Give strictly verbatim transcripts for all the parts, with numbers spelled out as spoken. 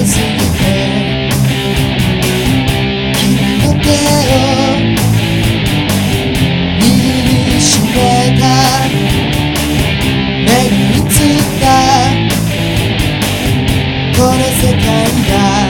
すぎて君の手を握りしめた目に映ったこの世界が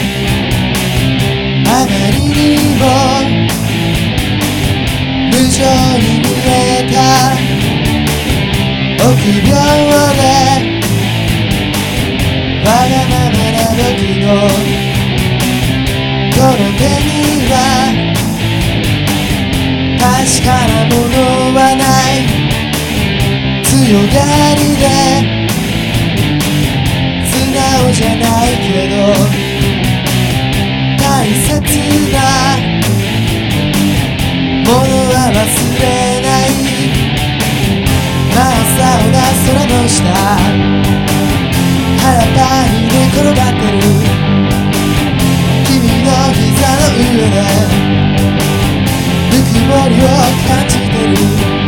あまりにも無情に見えた臆病でわがままな僕のこの手には確かなものはない強がりで素直じゃないけど大切なものは忘れない真っ青な空の下腹パンに寝転がってる君の膝の上でぬくもりを感じてる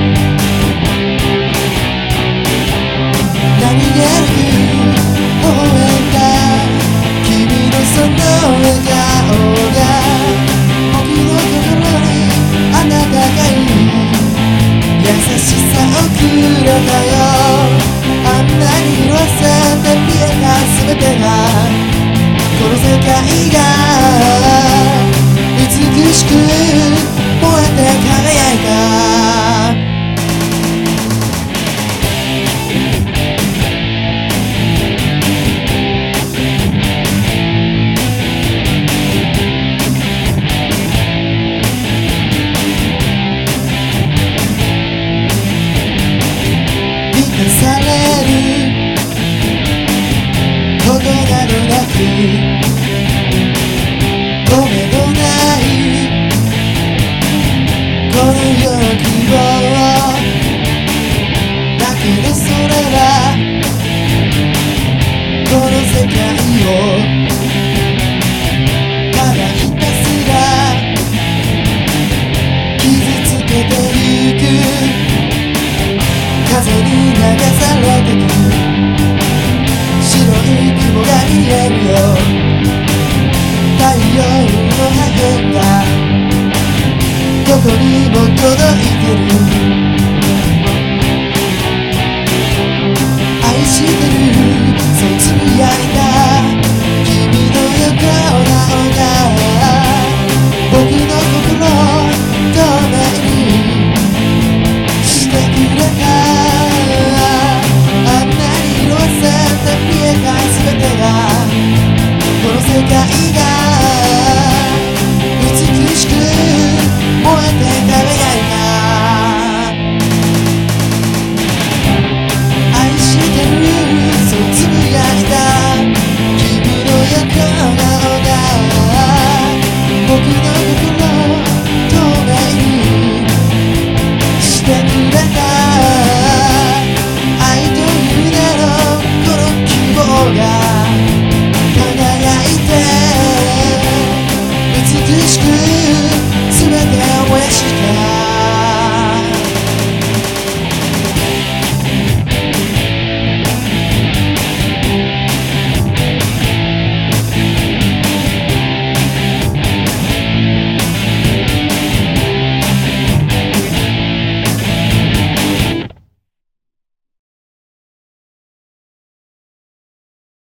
何気なく微笑んだ君のその笑顔が僕の心にあなたがいる優しさをくれたよあんなに色あせて見えた全てがこの世界が美しく